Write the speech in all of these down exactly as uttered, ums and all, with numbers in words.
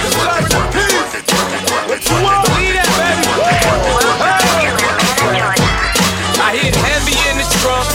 I hear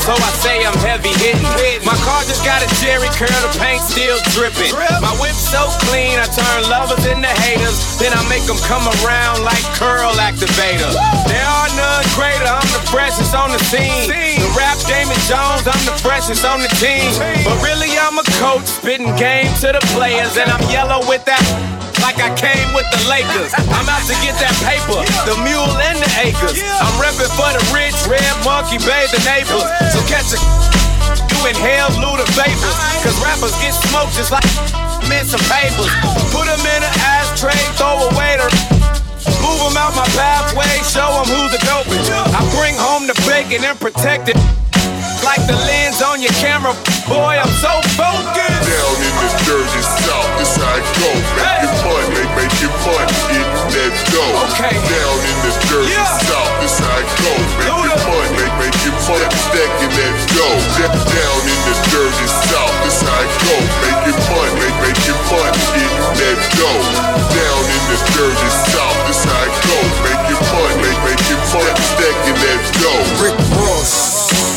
so I say I'm heavy hitting. My car just got a Jerry curl, the paint still dripping. My whip so clean, I turn lovers into haters. Then I make them come around like curl activator. There are none greater, I'm the freshest on the scene. The rap Damon Jones, I'm the freshest on the team. But really I'm a coach, spitting game to the players. And I'm yellow with that like I came with the Lakers. I'm out to get that paper, the mule and the acres. I'm reppin' for the rich, red monkey, bathe the neighbors. So catch a you inhale Luda vapors. Cause rappers get smoked just like in some papers. Put them in an ashtray, throw away the move them out my pathway, show them who's the dopest. I bring home the bacon and protect it like the lens on your camera. Boy, I'm so focused. Down in the dirty south, this how it go. Making fun, they making fun, getting that dough. Okay. Down in the dirty Yeah. south, this how it go. Making fun, they making fun, stacking that dough. Down in the dirty south, this how it go. Making fun, they making fun, getting that dough. Down in the dirty south, this how it go. Making fun, they making fun, stacking that dough. Rick Ross.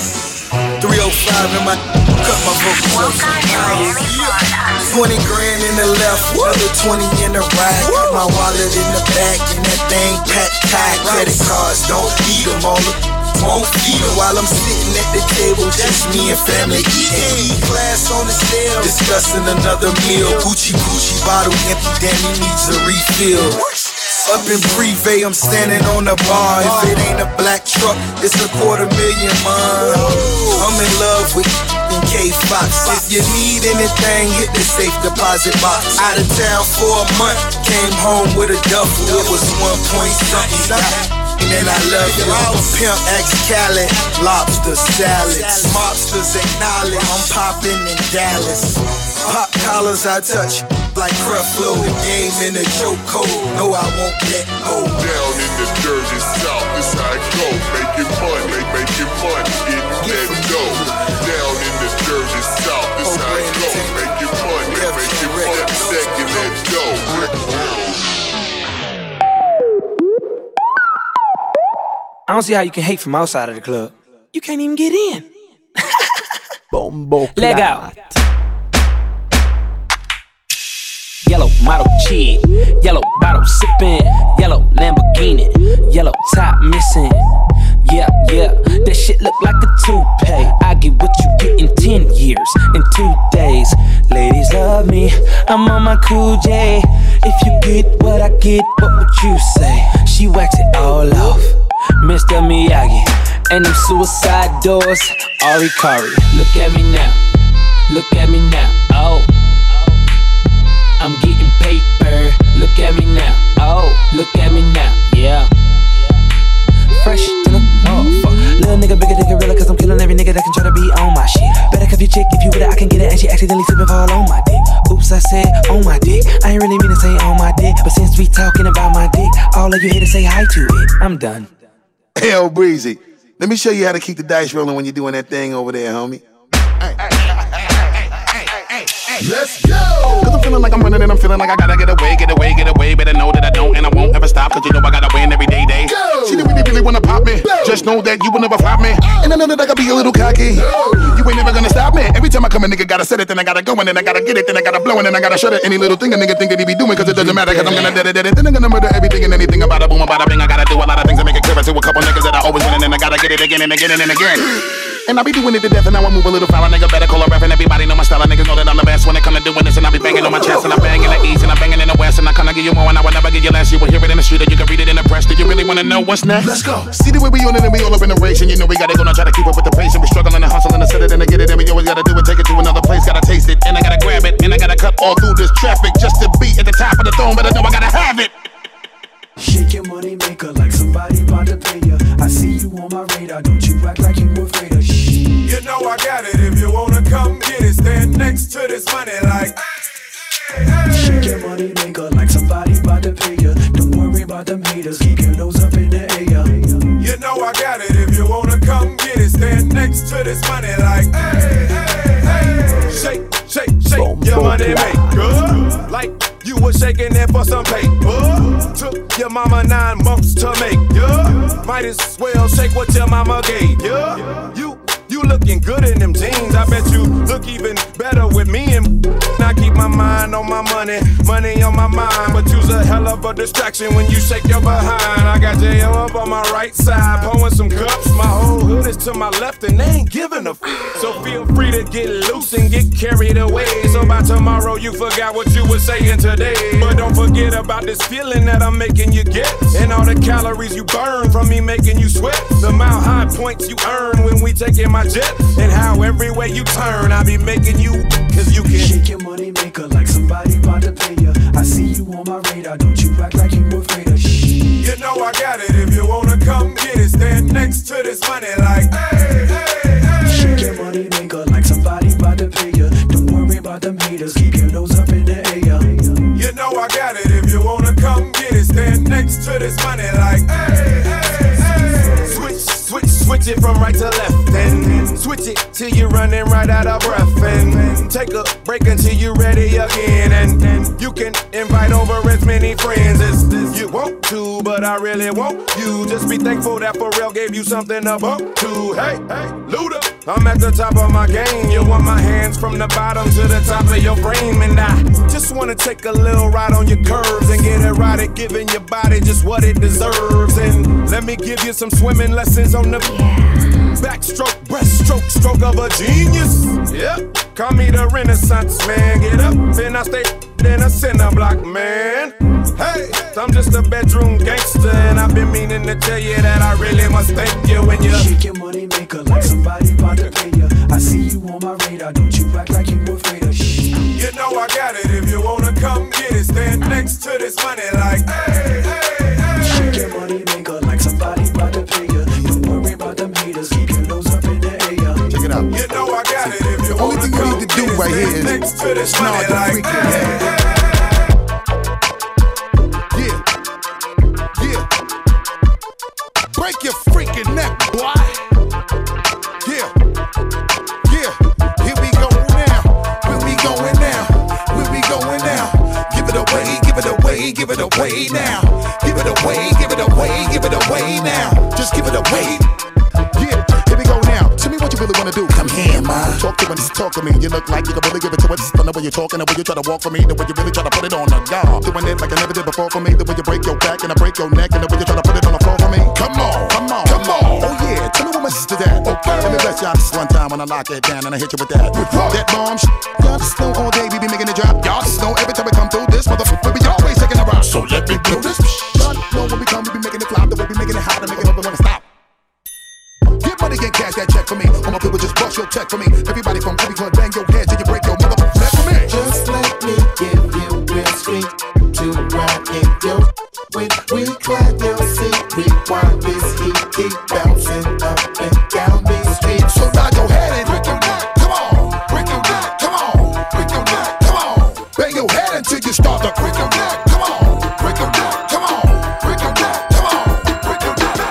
three oh five in my cut my vocals up. twenty grand in the left, other twenty in the right. Got my wallet in the back and that thing packed tight. Credit cards, don't eat them all. Won't feed them while I'm sitting at the table. Just me and family eating. E-class on the scale, discussing another meal. Gucci Gucci bottle empty, damn he needs a refill. Up in Privé, I'm standing on the bar. If it ain't a black truck, it's a quarter million, man. I'm in love with K Fox. If you need anything, hit the safe deposit box. Out of town for a month, came home with a duffel. It was one point something. And I love you. I'm a pimp, ex-Cali, lobster salads. Mobsters acknowledge I'm popping in Dallas. Pop collars I touch like Creflo, the game in a chokehold. No, I won't let go. Down in the dirty south, this how it go. Making fun, they making fun, getting that dough. Down in the dirty south, this how it go. Making fun, they making fun, stacking that dough. I don't see how you can hate from outside of the club. You can't even get in. Bombo Leg out. Yellow model chick, yellow bottle sipping, yellow Lamborghini, yellow top missing. Yeah, yeah, that shit look like a toupee. I get what you get in ten years, in two days. Ladies love me, I'm on my cool J. If you get what I get, what would you say? She wax it all off, Mister Miyagi, and them suicide doors, Ari Kari. Look at me now, look at me now, oh. I'm getting paper, look at me now, oh, look at me now, yeah. Fresh to the motherfucker. Little nigga bigger than gorilla, cause I'm killing every nigga that can try to be on my shit. Better cuff your chick, if you with it, I can get it, and she accidentally slipping fall on my dick. Oops, I said on my dick, I ain't really mean to say on my dick, but since we talking about my dick, all of you here to say hi to it, I'm done. Hell, Breezy, let me show you how to keep the dice rolling when you're doing that thing over there, homie. Hey, hey, hey, hey, hey, hey, hey, let's go! Cause I'm feeling like I'm running and I'm feeling like I gotta get away, get away, get away. Better know that I don't and I won't ever stop, cause you know I gotta win every day, day. Go. She didn't really, really wanna pop me. Go. Just know that you will never flop me. Oh. And I know that I gotta be a little cocky. No. You ain't never gonna stop me. Every time I come a nigga gotta set it, then I gotta go and then I gotta get it, then I gotta blow and then I gotta shut it. Any little thing a nigga think that he be doing, cause it doesn't matter, cause I'm gonna dead it, dead it. Then I'm gonna murder everything and anything about a boom, about a bing. I gotta do a lot of things to make it clearer to a couple niggas that I always win and then I gotta get it again and again and again. And I be doing it to death and now I move a little foul. A nigga better call a ref and everybody know my style. Niggas know that I'm the best when it come to doing this. And I be banging on my chest and I bang in the east and I banging in the west. And I kinda give you more and I will never give you less. You will hear it in the street or you can read it in the press. Do you really wanna know what's next? Let's go. See the way we on it and we all up in the race. And you know we gotta go now try to keep up with the pace. And we struggling and hustling to set it and to get it. And we always gotta do it, take it to another place. Gotta taste it and I gotta grab it. And I gotta cut all through this traffic just to be at the top of the throne. But I know I gotta have it. Shake your money maker like somebody about to pay ya. I see you on my radar, don't you act like you afraid of shit. You know I got it, if you wanna come get it, stand next to this money like hey, hey. Shake your money maker like somebody about to pay ya. Don't worry about them haters, keep your nose up in the air. You know I got it, if you wanna come get it, stand next to this money like hey, hey, hey. Shake, shake, shake Boom, your money maker like you was shaking it for some paper. Took your mama nine months to make ya. Might as well shake what your mama gave ya. You, you look looking good in them jeans. I bet you look even better with me and I keep my mind on my money, money on my mind. But you's a hell of a distraction when you shake your behind. I got J O up on my right side, pouring some cups. My whole hood is to my left and they ain't giving a f. So feel free to get loose and get carried away. So by tomorrow you forgot what you were saying today. But don't forget about this feeling that I'm making you get, and all the calories you burn from me making you sweat. The mile high points you earn when we taking my jet, and how every way you turn I be making you, cause you can shake your money maker like somebody about to pay ya. I see you on my radar, don't you act like you afraid of shit. You know I got it, if you wanna come get it, stand next to this money like hey, hey, hey. Shake your money maker like somebody about to pay ya. Don't worry about them haters, keep your nose up in the air. You know I got it, if you wanna come get it, stand next to this money like hey, hey, hey. Switch, switch, switch it from right to left, and switch it till you're running right out of breath, and take a break until you're ready again, and, and you can invite over as many friends as you want to, but I really want you. Just be thankful that Pharrell gave you something to bump to. Hey, hey, Luda, I'm at the top of my game. You want my hands from the bottom to the top of your frame, and I just wanna take a little ride on your curves and get it right at giving your body just what it deserves. And let me give you some swimming lessons on the backstroke, breaststroke, stroke of a genius. Yep, call me the Renaissance man. Get up, then I stay in a cinder block, man. Hey, I'm just a bedroom gangster, and I've been meaning to tell you that I really must thank you when you shake your money maker like somebody about to pay ya. I see you on my radar, don't you act like you afraid of shit. You know I got it, if you wanna come get it, stand next to this money like hey, hey, hey. Shake your money maker like somebody about to pay ya. Don't worry about them haters, keep your nose up in the air. Check it out. You know I got it, if you only wanna thing you come need to do get right it, here stand is next to this nod money the like freaking hey, head. hey. Break your freaking neck, boy. Yeah, yeah. Here we go now. Where we going now? Where we going now? Give it away, give it away, give it away now. Give it away, give it away, give it away now. Just give it away. Yeah, here we go now. Tell me what you really wanna do. Come here, ma. Talk to me, talk to me. You look like you can really give it to us. Don't know when you're talking, the way you try to walk for me, the way you really try to put it on the guard. Doing it like I never did before for me, the way you break your back and I break your neck, and the way you try to put it on the floor for me. Come on, come on, come on. Oh yeah, tell me what my sister that. Okay, let me bless y'all this one time when I lock it down and I hit you with that. With that bomb sh- y'all just know all day we be making it drop. Y'all just know every time we come through this motherfucker, we always taking a rock. So let me blow this. Y'all know when we come, we be making it flop, the way we making it hot, and making it up and wanna stop. Get money and cash that check for me. All my people just bust your check for me. Everybody from every club, bang your head till you break your motherfucking neck for me. Just let me give you real sweet to ride in your with we clap your seat. Rewind this heat, keep bouncing up and down these streets. So nod your head and break your neck. Come on, break your neck. Come on, break your neck. Come on, bang your head until you start to break your neck. Come on, break your neck. Come on, break your neck. Come on, break your neck.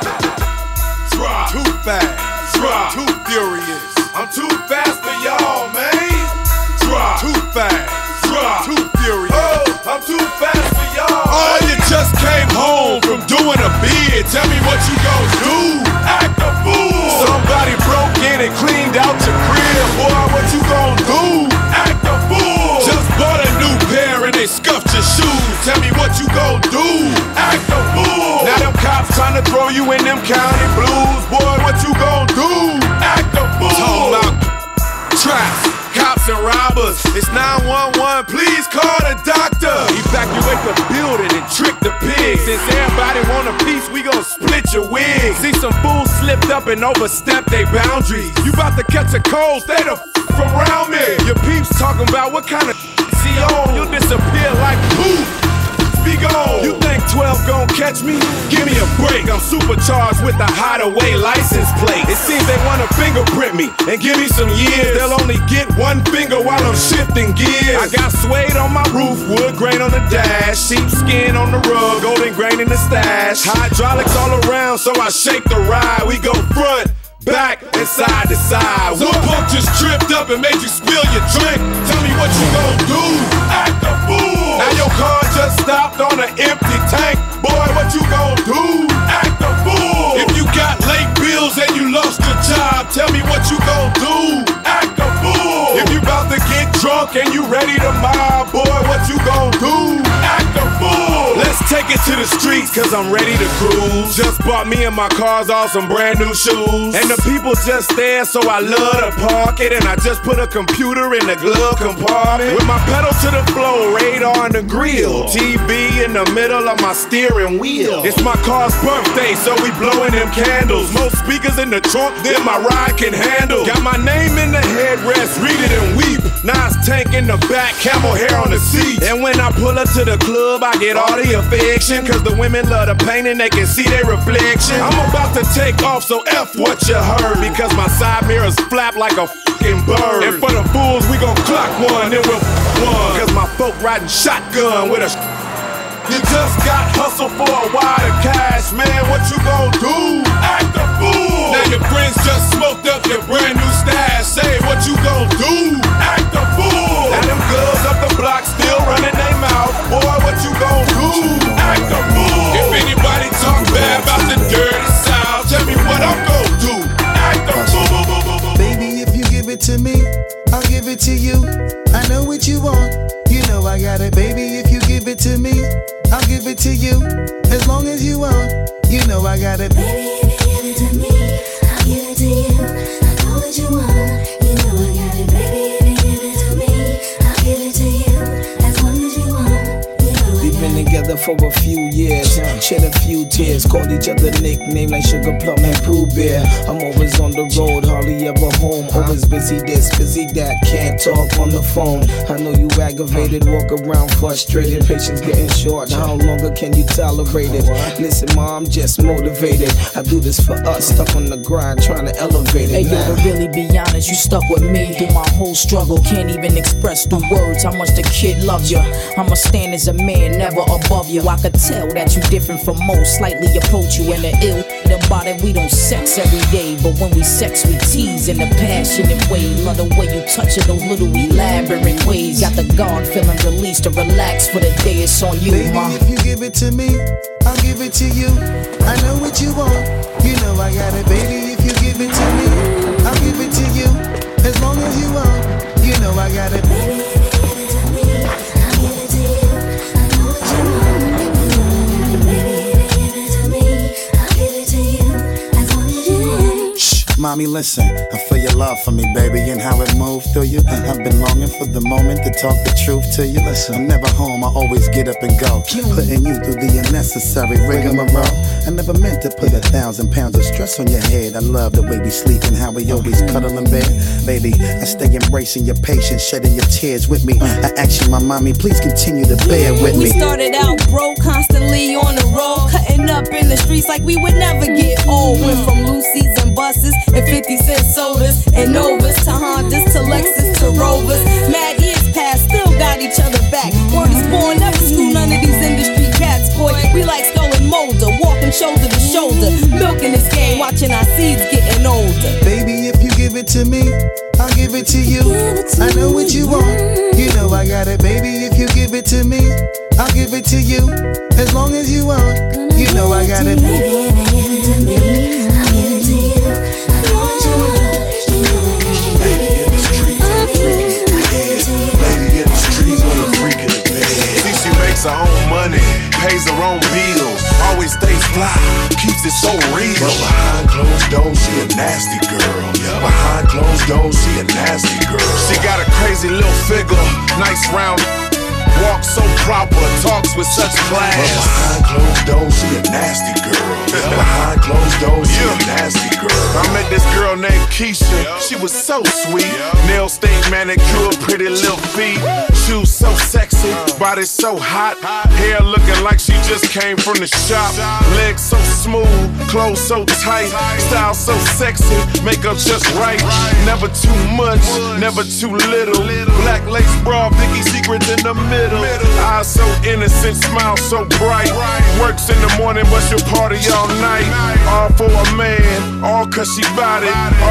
Drop. Too fast, drop. Too furious. I'm too fast for y'all, man. Drop. Too fast, drop. Too furious. Oh, I'm too fast for y'all. Oh, you just came home from doing a bid. Tell me what you gon' do. Act a fool. Somebody broke in and cleaned out your crib. Boy, what you gon' do? Act a fool. Just bought a new pair and they scuffed your shoes. Tell me what you gon' do. Act a fool. Now them cops trying to throw you in them county blues. Boy, what you gon' do? Act a fool. Talking about traps, cops and robbers. It's nine one one, please call the doctor. Evacuate the building and trick the pigs. Since everybody want a piece, we gon' split your wig. See some fools slipped up and overstepped their boundaries. You about to catch a cold, stay the f around me. Your peeps talking about what kind of see on. You'll disappear like poof. Be gone. You think twelve gon' catch me? Give me a break. I'm supercharged with a hideaway license plate. It seems they wanna fingerprint me and give me some years. They'll only get one finger while I'm shifting gears. I got suede on my roof, wood grain on the dash, sheepskin on the rug, golden grain in the stash. Hydraulics all around, so I shake the ride. We go front, back, and side to side. One punk just tripped up and made you spill your drink. Tell me what you gon' do. Act a fool. Now your car just stopped on an empty tank. Boy, what you gon' do? Act a fool. If you got late bills and you lost your job, tell me what you gon' do. cause I'm ready to cruise. Just bought me and my cars all some brand new shoes. And the people just there, so I love to park it. And I just put a computer in the glove compartment. With my pedal to the floor, radar in the grill, T V in the middle of my steering wheel. It's my car's birthday, so we blowing them candles. More speakers in the trunk than my ride can handle. Got my name in the headrest, read it and weep. Nas tank in the back, camel hair on the seat. And when I pull up to the club, I get all the affection. Cause the women love the pain and they can see their reflection. I'm about to take off, so F what you heard. Because my side mirrors flap like a fucking bird. And for the fools, we gon' clock one, then we'll f one. Cause my folk riding shotgun with a sh- You just got hustle for a wad of cash, man, what you gon' do? Act a fool! Now your friends just smoked up your brand new stash. Say what you gon' do? Act a fool! And them girls up the block still running their mouth. Boy, what you gon' do? Act a fool! If anybody talk bad about the dirty South, tell me what I'm gon' do. Act a fool! Baby, if you give it to me, I'll give it to you. I know what you want, you know I got it. Baby, if you give it to me, I'll give it to you. As long as you want, you know I got it. Baby, if you give it to me, I'll give it to you. I know what you want, you know I got it. Baby, if you give it to me, I'll give it to you. As long as you want, you know I got it. We've been together for a few years, shed a few tears, called each other nicknames like Sugar Plum and Pooh Bear. I'm always on the road, hardly ever home. Always busy this, busy that, can't talk on the phone. I know you aggravated, walk around frustrated, patience getting short. How longer can you tolerate it? Listen, ma, I'm just motivated. I do this for us, stuck on the grind, trying to elevate it. Hey, yo, to really be honest, you stuck with me through my whole struggle. Can't even express through words how much the kid loves you. I'ma stand as a man, never above you. I could tell that you different from most, slightly approach you in the ill. About it, we don't sex every day, but when we sex, we tease in a passionate way. Love the way you touch it, those little elaborate ways. Got the guard feeling released to relax for the day. It's on you, Baby, ma. if you give it to me, I'll give it to you. I know what you want, you know I got it. Baby, if you give it to me, I'll give it to you. As long as you want, you know I got it. Baby, if you give it to me, I'll give it to you. I know what you want, you know I got it. Baby, if you give it to me, I'll give it to you. As long as you want. Shh, mommy, listen. I feel your love for me, baby, and how it moved through you. I've been longing for the moment to talk the truth to you. Listen, I'm never home, I always get up and go, putting you through the unnecessary rigmarole. I never meant to put a thousand pounds of stress on your head. I love the way we sleep and how we always cuddle in bed. Baby, I stay embracing your patience, shedding your tears with me. I ask you, my mommy, please continue to bear with me. We started out broke, constantly on the road, cutting up in the streets like we would never get old. Went from Lucy's and buses and fifty cent sodas and Novas to Hondas to Lexus to Rovers. Mad years past, still got each other back. Word is born, never screw none of these industry cats, boy. We like stolen molder, walking shoulder to shoulder, milking this game, watching our seeds getting older. Baby, if you give it to me, I'll give it to you. I know what you want, you know I got it. Baby, if you give it to me, I'll give it to you. As long as you want, you know I got it. Baby, if you give it to me, I'll give it to you. I know what you want, you know I got it. Baby, in the streets, I'll give it to you. Lady in the streets with a freak in the bed. See, she makes her own money, pays her own bills, always stays fly, keeps it so real. But behind closed doors, she a nasty girl. Behind closed doors, she a nasty girl. She got a crazy little figure, nice round. Walks so proper, talks with such class. But behind closed doors, she a nasty girl. Behind closed doors, she a nasty girl. I met this girl named Keisha, she was so sweet. Nails stayed manicured, pretty little feet. Shoes so sexy, body so hot. Hair looking like she just came from the shop. Legs so smooth, clothes so tight. Style so sexy, makeup just right. Never too much, never too little. Black lace bra, Vicky Secrets in the middle. Eyes so innocent, smile so bright. Works in the morning, but she'll party all night. All for a man, all cause she bout it. All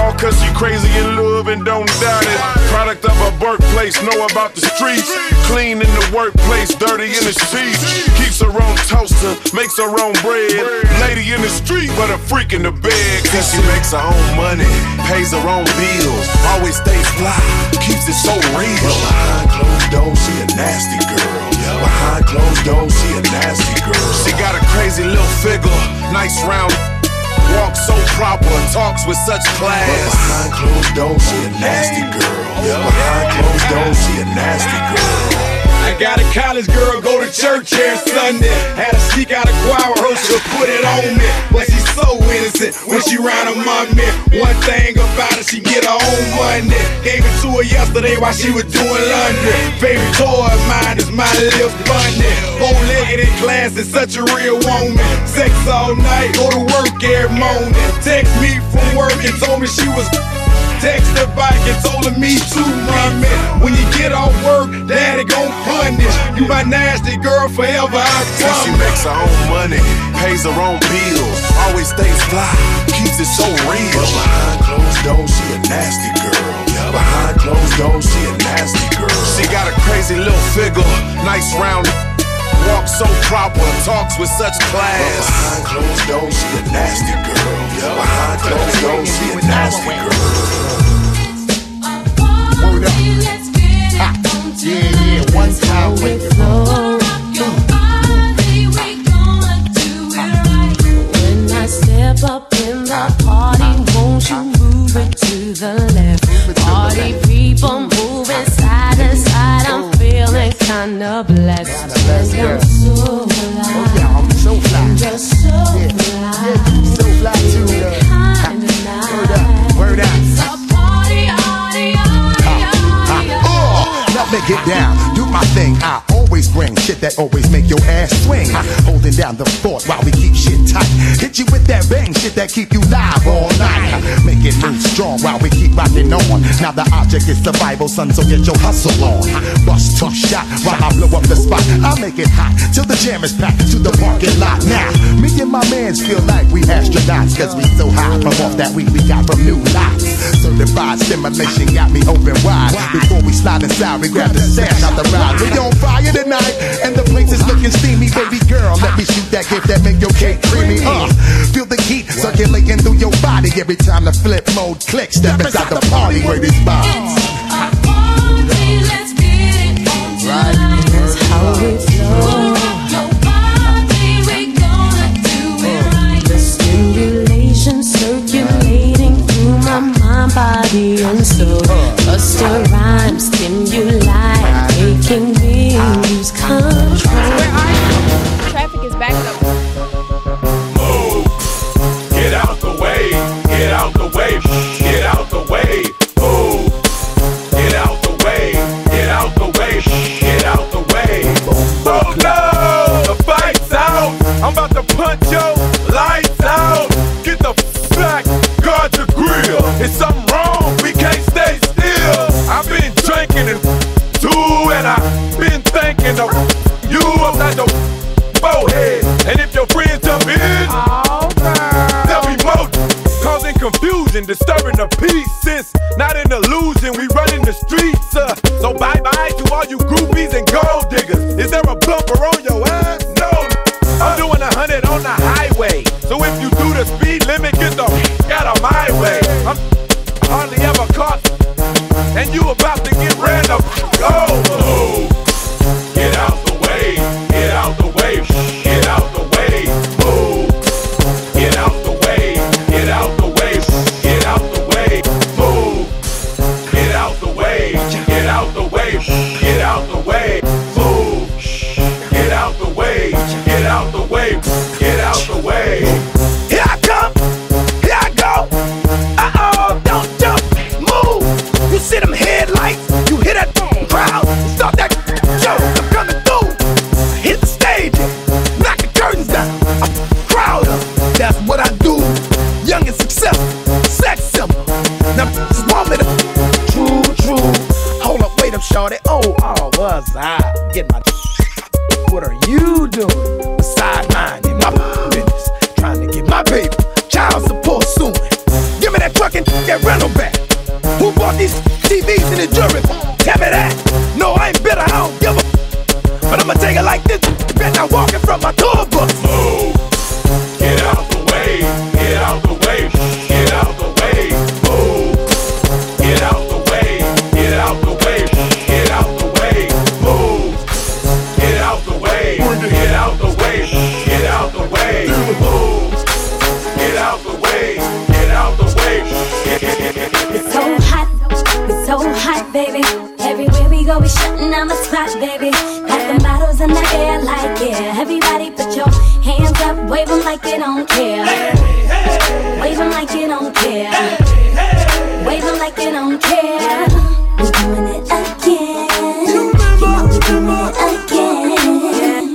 all cause she crazy in love and don't doubt it. Product of her birthplace, know about the streets. Clean in the workplace, dirty in the sheets. Keeps her own toaster, makes her own bread. Lady in the street, but a freak in the bed. Cause she makes her own money, pays her own bills. Always stays fly, keeps it so real. Behind closed doors, she a nasty girl. Behind closed doors, she a nasty girl. She got a crazy little figure, nice round. Walks so proper, talks with such class. But behind closed doors, she a nasty girl. Behind closed doors, she a nasty girl. I got a college girl go to church every Sunday. Had to sneak out a choir rehearsal to put it on me. But she's so innocent when she round her mommy. One thing about it, she get her own money. Gave it to her yesterday while she was doing laundry. Favorite toy of mine is my little bunny. Bow-legged in class is such a real woman. Sex all night, go to work every morning. Text me from work and told me she was. Text her back and told her me too, mommy. When you get off work, daddy gon' punish. You my nasty girl forever, I promise. She makes her own money, pays her own bills. Always stays fly, keeps it so real. But behind closed doors, she a nasty girl. Behind closed doors, she a nasty girl. She got a crazy little figure, nice round. Walks so proper, talks with such class. But behind closed doors, she a nasty girl. Behind closed doors, she a nasty girl. Word up. Ha. Yeah, yeah, one time with the flow. When I step up in the party, won't you move it to the left? Party people moving side to side, I'm feeling kinda blessed. I'm so fly. I'm so fly. You're so fly. Yeah, so fly too. Kinda nice. Word up, word up. So party, party, party, party. Let me get down, do my thing. I always bring shit that always make your ass swing. Holding down the fort while we keep shit tight. Hit you with that bang shit that keep you live all night. Make it move strong while we keep rocking on. Now the object is survival, son, so get your hustle on. Bust two shot while I blow up the spot. I make it hot till the jam is packed to the parking lot. Now, me and my mans feel like we astronauts, cause we so high from off that weed we got from new lots. Certified stimulation got me open wide. Before we slide inside, we grab the sash out the ride. We on fire tonight, and the place is looking steamy. Baby girl, let me shoot that gift that make your cake creamy. Uh, feel the heat circulating through your body every time the flip mode clicks. Step inside the party where this bounce. Let's get it on tonight. That's how we flow. Your body, we gonna do it right. The stimulation circulating through my mind, body, and soul. Bust a rhyme, stimuli, making me lose control. Where are you? Traffic is backed up. Move, get out the way, get out the way, get out the way. Move, get out the way, get out the way, get out the way. Oh no, the fight's out. I'm about to punch your lights out. Get the f back, guard the grill. It's something wrong, we can't stay still. I've been drinking and too, and I've been thinking of you upside the forehead. And if your friends jump in, they'll be more causing confusion, disturbing the peace. Since not an illusion, we running the streets. Uh, so bye bye to all you groupies and gold diggers. Is there a bumper on your ass? No. I'm doing a hundred on the highway. So if you do the speed limit, get the f out of my way. I'm hardly ever caught, and you about to get ran up. Go. Get out the way. Get out the way. Get out the way. Move. Get out the way. Get out the way. Get out the way. Move. Get out the way. Get out the way. Get out the way. Move. Get out the way. Get out the way. Get out the way. Here I come. Here I go. Uh-oh, don't jump. Move. You see them headlights? You hear that crowd? Stop that show. I'm coming through. Hit the stage. Knock the curtains down. I'm proud of. That's what I do. Young and successful. Sex symbol. Now just want me to. True, true. Hold up, wait up, shorty. Oh, oh, was I? Get my. What are you doing? Beside mine in my business. Trying to get my baby. Child support soon. Give me that truck and that rental Who bought these T Vs in the jury? Tell me that. No, I ain't bitter, I don't give a. But I'ma take it like this. Bet I'm walking from my tour book. Move. Get out the way. Get out the way. Get out the way. Move. Get out the way. Get out the way. Get out the way. Move. Get out the way. Get out the way. Get out the way. Move. Get out the way. Get out the way. It's so hot. It's so hot, baby. Everywhere we go, we shutting down the spot, baby. Got the bottles in the air like, yeah. Everybody put your hands up, wave them like you don't care. Wave them like you don't care. Wave them like you don't care. We're doing it again. You know we're doing it again.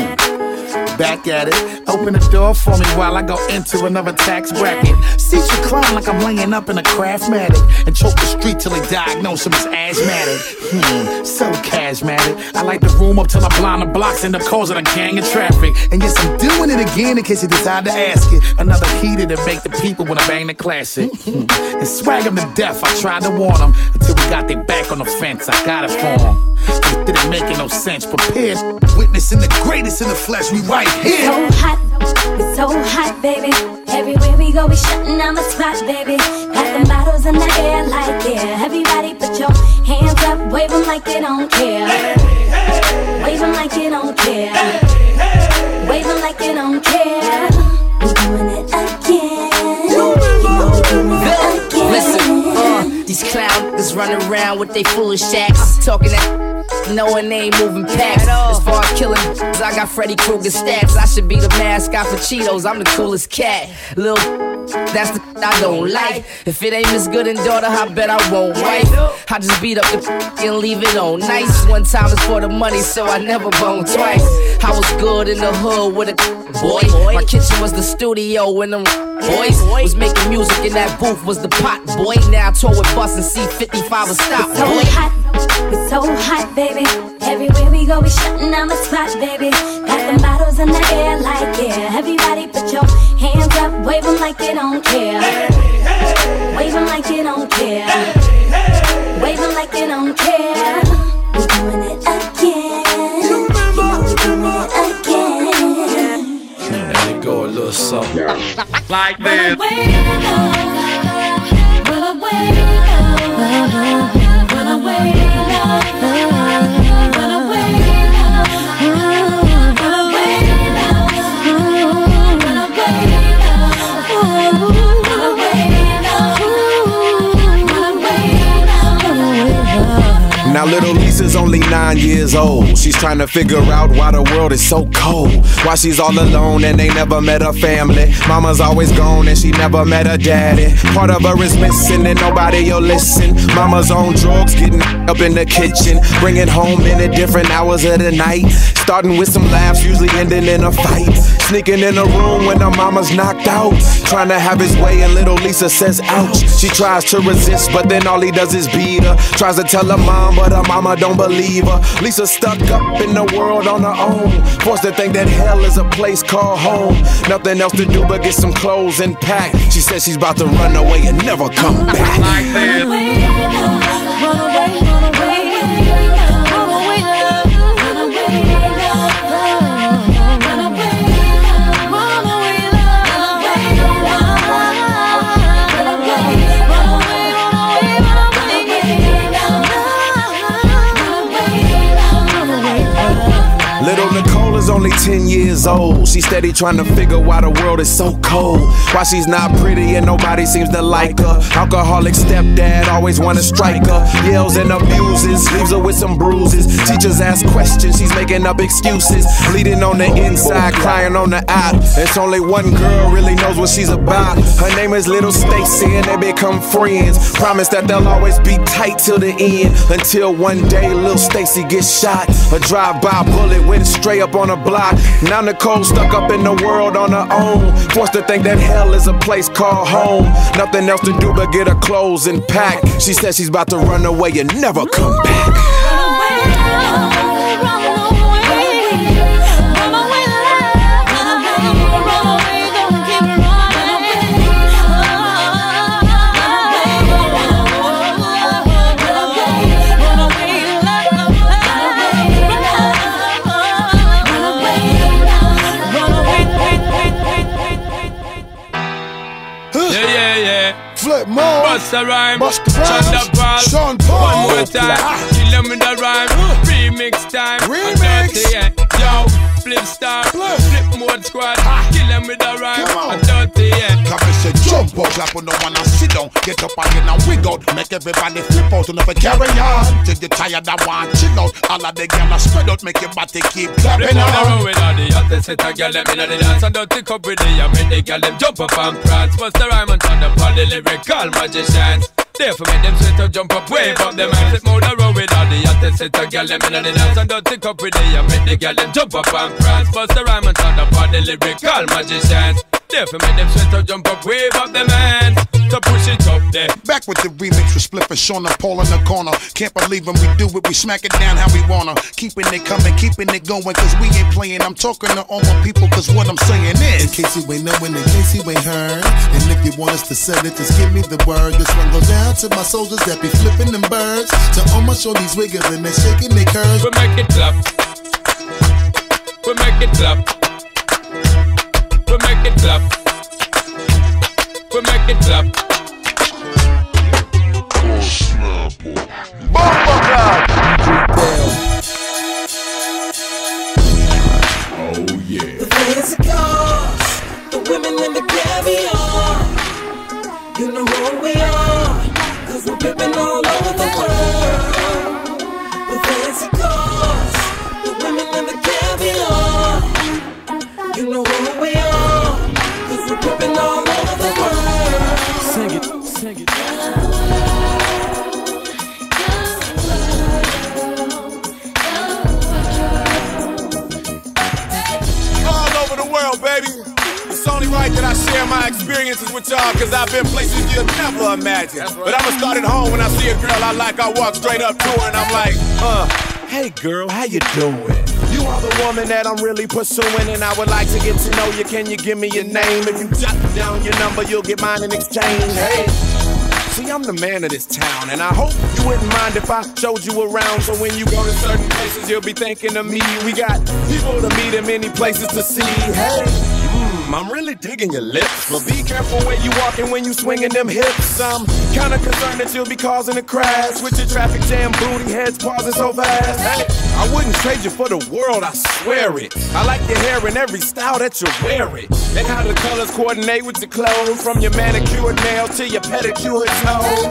Back at it, open the door for me while I go into another tax bracket. See you clown like I'm laying up in a Craftmatic and choke the street till they diagnose him as asthmatic. Hmm, so charismatic. I like the room up till I blind the blocks and the cause of the gang of traffic. And yes, I'm doing it again in case you decide to ask it. Another heater to make the people when I bang the classic. Hmm. And swag them to death, I tried to warn them until we got their back on the fence. I got it for them. It didn't make no sense. Prepared, witnessing the greatest in the flesh. We right here. It's so hot, it's so hot, baby. Everywhere we go, we shutting down the spot, baby. Got them bottles in the air like, yeah. Everybody put your hands up, wave them like you don't care. Wave them like you don't care. Wave them like you don't care. We're doing it again. We're doing it again. Listen, uh, these clowns running around with they foolish acts, talking that. Knowing they ain't moving past. As far as killing, I got Freddy Krueger stats. I should be the mascot for Cheetos. I'm the coolest cat. Lil, that's the I don't like. If it ain't Miss Good and daughter, I bet I won't wife. I just beat up the and leave it on nice. One time is for the money, so I never bone twice. I was good in the hood with a boy. My kitchen was the studio when them boys was making music in that booth was the pot boy. Now I tour with Bus and C fifty-five and stop. It's so boy. hot, it's so hot, baby. Everywhere we go, we shutting down the spot, baby. Got them bottles in the air like, yeah. Everybody put your hands up, wave them like you don't care. Wave them like you don't care. Wave them like you don't care. We're doing it again. You know we're doing it again. And it go a little something like this. Now little Lisa's only nine years old. She's trying to figure out why the world is so cold. Why she's all alone and they never met her family. Mama's always gone and she never met her daddy. Part of her is missing and nobody'll listen. Mama's on drugs, getting up in the kitchen, bringing home in at different hours of the night. Starting with some laughs, usually ending in a fight. Sneaking in the room when her mama's knocked out. Trying to have his way and little Lisa says ouch. She tries to resist but then all he does is beat her. Tries to tell her mom but her mama don't believe her. Lisa stuck up in the world on her own. Forced to think that hell is a place called home. Nothing else to do but get some clothes and pack. She says she's about to run away and never come back. Like this. Run away, run away, run away. Little Nicole is only ten years old. She's steady trying to figure why the world is so cold. Why she's not pretty and nobody seems to like her. Alcoholic stepdad always wanna strike her. Yells and abuses, leaves her with some bruises. Teachers ask questions, she's making up excuses. Bleeding on the inside, crying on the out. It's only one girl really knows what she's about. Her name is Little Stacy and they become friends. Promise that they'll always be tight till the end. Until one day Little Stacy gets shot. A drive-by bullet went straight up on her block. Now Nicole stuck up in the world on her own. Forced to think that hell is a place called home. Nothing else to do but get her clothes and pack. She says she's about to run away and never come back. Busta Rhyme, Busta Rhymes, Paul, Sean Paul, one more time, kill them with the rhyme, remix time, remix, dirty, yeah. Yo, flip star, flip, flip mode squad, kill them with the rhyme, and dirty, yeah. Come and say jump up, clap on the one and sit down, get up again and wiggle, make everybody flip out and never carry on. Till you tired and want chill out, all of the gyal spread out, make your body keep clapping on. on. The road with all the hottest set of gyal them inna the dance and dirty cup with the and make the gyal them jump up and prance. Busta Rhyme and turn up all the lyrical magicians. Therefore make them sweat up, jump up, wave up them hands. Flip mode the road with all the hottest set of gyal them inna the dance and dirty cup with the and make the gyal them jump up and prance. Busta Rhyme and turn up all the lyrical magicians. Therefore make them sweat up, jump up, wave up them hands. To push it up there. Back with the remix with Spliff and Sean and Paul in the corner. Can't believe when we do it, we smack it down how we wanna. Keeping it coming, keeping it going, cause we ain't playing. I'm talking to all my people, cause what I'm saying is, in case you ain't knowing, in case you ain't heard, and if you want us to sell it, just give me the word. This one goes down to my soldiers that be flipping them birds. To all my shorties wiggling and shaking their curves. We make it clap. We make it clap. We make it clap. We make it clap. Bomba clap. Oh yeah. The fancy cars, the women and the caviar. You know who we are, cause we're pimping all over the world. The fancy cars, the women and the caviar. You know who we are, cause we're pimping all over the world. Sing it, sing it. All over the world, baby. It's only right that I share my experiences with y'all, cause I've been places you'll never imagine. Right. But I'ma start at home. When I see a girl I like, I walk straight up to her and I'm like, uh, hey girl, how you doing? You are the woman that I'm really pursuing, and I would like to get to know you. Can you give me your name? If you jot down your number, you'll get mine in exchange. Hey, see, I'm the man of this town, and I hope you wouldn't mind if I showed you around. So when you go to certain places, you'll be thinking of me. We got people to meet and many places to see. Hey, mm, I'm really digging your lips, but be careful when you walking, when you swinging them hips. I'm kinda concerned that you'll be causing a crash with your traffic jam booty heads pausing so fast. Hey, I wouldn't trade you for the world, I swear it. I like your hair in every style that you wear it, and how the colors coordinate with your clothes, from your manicured nails to your pedicured toes.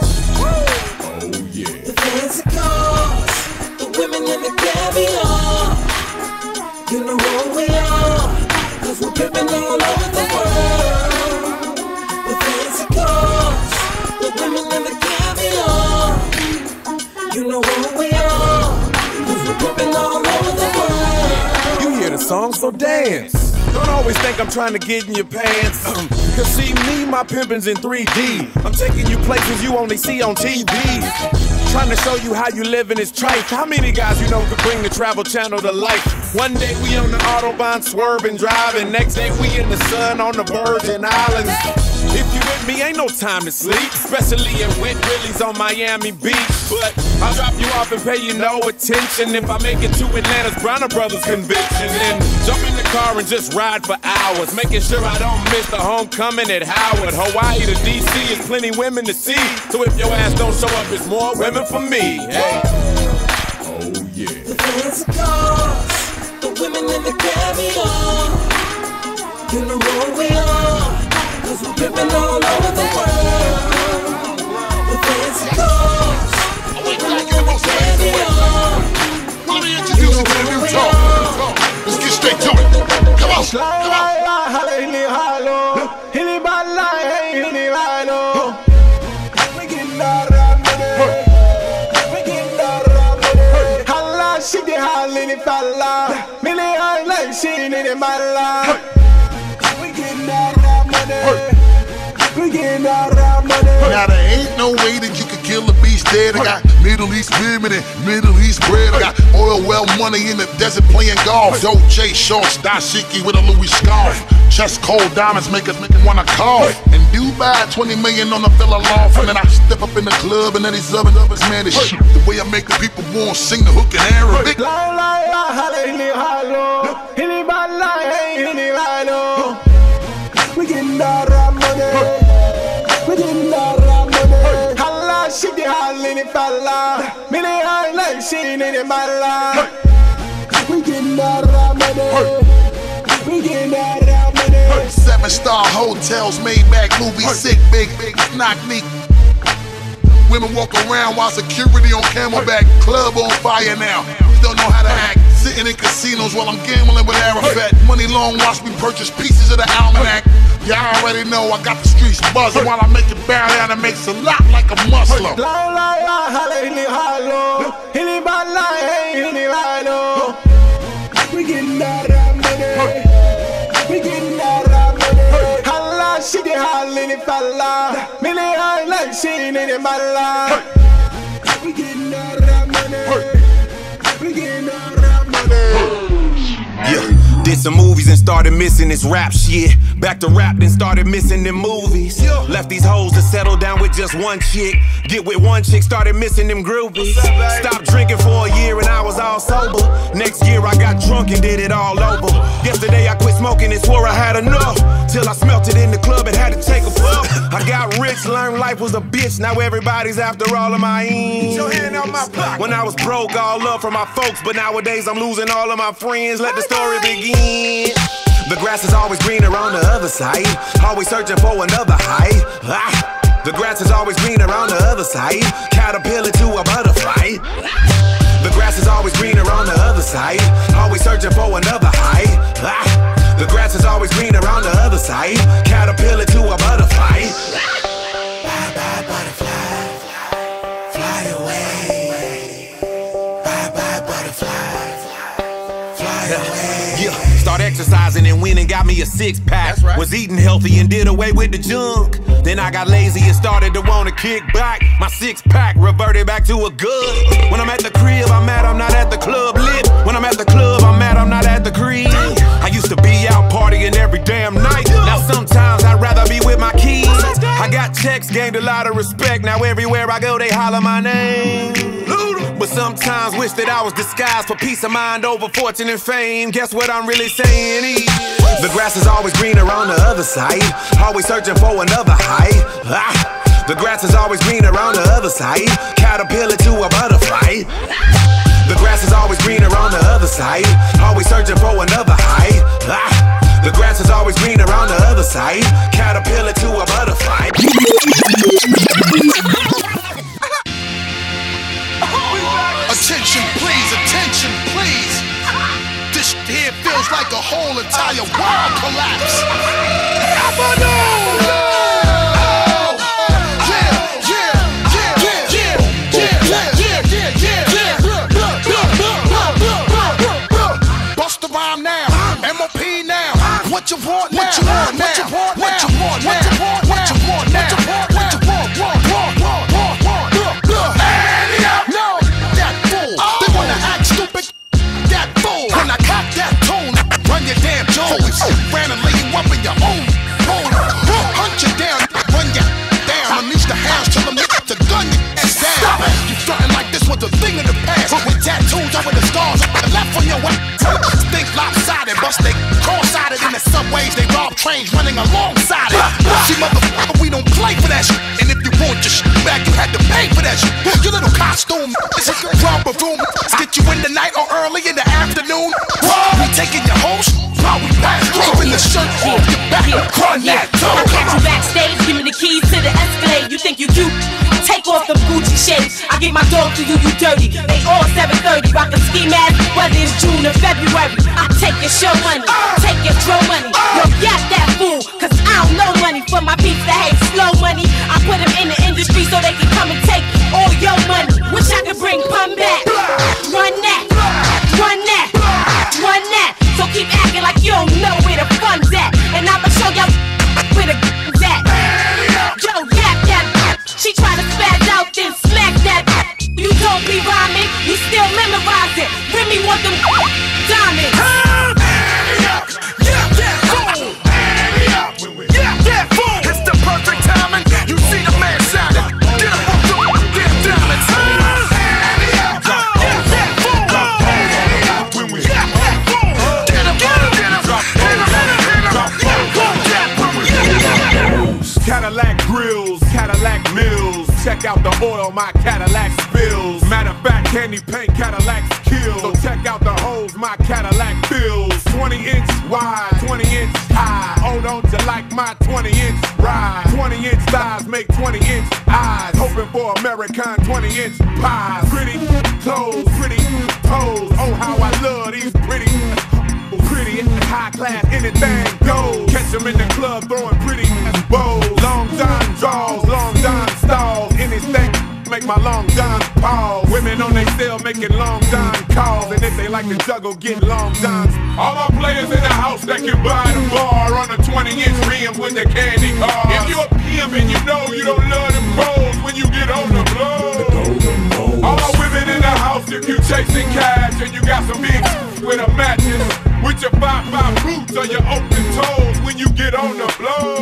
Oh yeah. The fancy cars, the women and the caviar. You know who we are, cause we're pimping all over the world. The fancy cars, the women and the caviar. You know who we are, cause we're pimping all over the world. You hear the song, so dance. Don't always think I'm trying to get in your pants. Cause see me, my pimpin's in three D. I'm taking you places you only see on T V. Trying to show you how you living is trite. How many guys you know could bring the Travel Channel to life? One day we on the Autobahn swerving, driving. Next day we in the sun on the Virgin Islands. If you with me, ain't no time to sleep, especially in Wet Willie's on Miami Beach. But I'll drop you off and pay you no attention if I make it to Atlanta's Bronner Brothers convention. Then jump in the car and just ride for hours, making sure I don't miss the homecoming at Howard. Hawaii to D C is plenty women to see, so if your ass don't show up, it's more women for me. Hey. Oh yeah. The fancy cars, the women and the caviar. You know who we are, cause we're pimping all over the world. The fancy cars, the women and the caviar. Let me introduce you to the new talk. Let's get straight to it. Come on, come on. We getting all that money. We getting all that money. Holla, she get holla in the falla. Million eyes like she in the mala. We getting all that money. We getting all that money. Now there ain't no way that you could kill a beast dead. I got Middle East women and Middle East bread. I got oil well money in the desert playing golf. Dolce shorts, dashiki with a Louis scarf. Chest cold diamonds make us make it wanna cough. In Dubai, twenty million on the villa loft. And then I step up in the club and then these other lovers, man, this shit. The way I make the people want sing the hook in Arabic. We getting all that money. We getting all that money. hallini falla. Mini high like she in the balla. We getting that rap money. We getting that rap money. Seven star hotels, Maybach, movie, sick, big, big, knock me. Women walk around while security on Camelback. Club on fire now. Don't know how to act. Sitting in casinos while I'm gambling with Arafat. Money long, watch me purchase pieces of the almanac. Y'all already know I got the streets buzzing while I make it bow down and makes a lot like a Muslim. We getting that rap money. We getting that rap money. Halla, she get hallini falla. Mini high like she in the balla. We getting that rap money. We getting that rap money. Yeah, did some movies and started missing this rap shit. Back to rap, then started missing them movies. Left these hoes to settle down with just one chick. Get with one chick, started missing them groupies. Stopped drinking for a year and I was all sober. Next year I got drunk and did it all over. Yesterday I quit smoking and swore I had enough. Till I smelt it in the club and had to take a puff. I got rich, learned life was a bitch. Now everybody's after all of my ends. Your hand on my pocket. When I was broke, all love from my folks. But nowadays I'm losing all of my friends. Let the story begin. The grass is always greener on the other side. Always searching for another high. Ah. The grass is always greener on the other side. Caterpillar to a butterfly. The grass is always greener on the other side. Always searching for another high. Ah. The grass is always greener on the other side. Caterpillar to a butterfly. Bye bye butterfly, fly away. Bye bye butterfly, fly away. Yeah. Start exercising and went and got me a six pack. Right. Was eating healthy and did away with the junk. Then I got lazy and started to wanna kick back. My six pack reverted back to a good. When I'm at the crib, I'm mad I'm not at the club lit. When I'm at the club, I'm mad I'm not at the crib. I used to be out partying every damn night. Now sometimes I'd rather be with my kids. I got checks, gained a lot of respect. Now everywhere I go, they holler my name. But sometimes wish that I was disguised for peace of mind over fortune and fame. Guess what I'm really saying is the grass is always greener on the other side. Always searching for another high. Ah. The grass is always greener on the other side. Caterpillar to a butterfly. The grass is always greener on the other side. Always searching for another high. Ah. The grass is always greener on the other side. Caterpillar to a butterfly. Attention please, attention please. This here feels like a whole entire world collapse. Bust the rhyme now, M O P now. What you want now? What you want now? What you want now? What you want now? What you want now? What you want now? What you want? Want, want, want, want, want. Look, look. No, that fool. They wanna act stupid. That fool. When I cock that tone, run your damn Jones. Ran and lay you up in your own hole. Hunt you down, run you down. Unleash the hounds till I'm to gun you ass down. You frontin' like this was a thing in the past. With tattoos over the scars on the left on your way. Think lopsided, bust they cross-sided in the subways. They rob trains running alongside it. See, motherfucker, we don't play for that shit. And if you want your shit back, you had to pay for that shit. Your little costume, this is your romper room. Get you in the night or early in the afternoon. We taking your host while we pass. Keeping the shirt off your back. Run that toe. I catch you backstage, give me the keys to the Escalade. You think you cute? Take off the Gucci shades. I get my dog to you, you dirty. They all seven thirty, rockin' ski mask, whether it's June or February. I take your show money, take your throw money. Yo, got that fool, cause I don't know money for my beats that hate slow money. I put them in the industry so they can come and take all your money. Wish I could bring pun back. Run that, run that, run that. So keep acting like you don't know where the fun's at. And I'ma show y'all where the gun's at. Yo, yap, yap. She tryna spaz out, then smack that. You don't be rhyming, you still memorize it. Remy want them diamonds. Yeah, yeah, fool. Yeah, yeah, fool. It's the perfect timing. You see the man shining. Get up on the oil my Cadillac spills. Matter of fact, candy paint Cadillacs kill. So check out the holes my Cadillac fills. twenty inch wide, twenty inch high. Oh, don't you like my twenty inch ride? twenty inch thighs make twenty inch eyes. Hoping for American twenty inch pies. Pretty clothes, pretty pose. Oh, how I love these pretty, pretty high class, anything goes. Catch them in the club throwing pretty bows. Long John draws, long John stalls. Anything make my long John pause. Women on they cell making long John calls. And if they like to juggle, get long Johns. All my players in the house that can buy the bar on a twenty inch rim with the candy car. If you a P M and you know you don't love them pros when you get on the blow. All my women in the house, if you chasing cash and you got some big with a matches, with your five five boots or your open toes when you get on the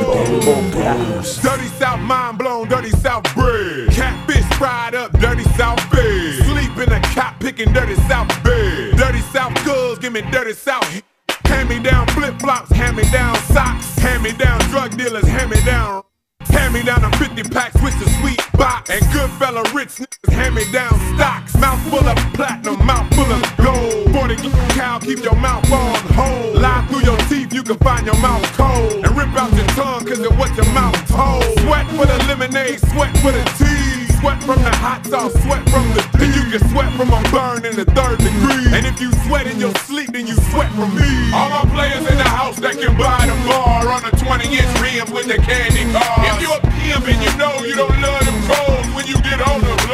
blow. Dirty South mind blown, dirty South bread. Catfish fried up, dirty South bed. Sleep in a cop picking dirty South bed. Dirty South girls, give me dirty South. Hand me down flip flops, hand me down socks. Hand me down drug dealers, hand me down. Hand me down a fifty packs with the sweet box. And good fella rich niggas hand me down stocks. Mouth full of platinum, mouth full of gold. forty cow, keep your mouth on hold. Lie through your teeth, you can find your mouth cold. And rip out your tongue, cause of what your mouth told. Sweat for the lemonade, sweat for the tea. Sweat from the hot sauce, sweat from the tea. And you can sweat from a burn in the third degree. And if you sweat in your sleep, then you sweat from me. All my players in the house that can buy the bar on a twenty inch rim with the candy car. If you a P M and you know you don't love them cold when you get on the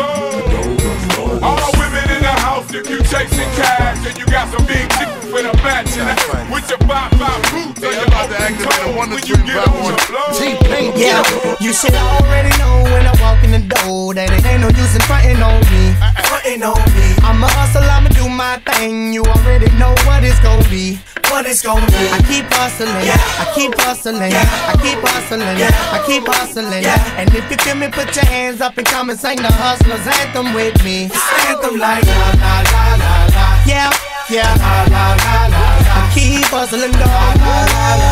blow. All my women in the house, if you chasing cash and you got some big chicks with a match in it, with your five five boots or your open toe when you get on the blow. Yeah, you should already know when I walk in the door that it ain't no use in frontin' on me. Frontin' on me. I'm a hustle, I'ma do my thing. You already know what it's gon' be. What it's gon' be. I keep hustling, yeah. I keep hustling, yeah. I keep hustling, yeah. I keep hustling, yeah. And if you feel me, put your hands up and come and sing the hustlers anthem with me. It's anthem like la la la la la. Yeah, yeah, la la la la la. I keep hustling, dog. La la la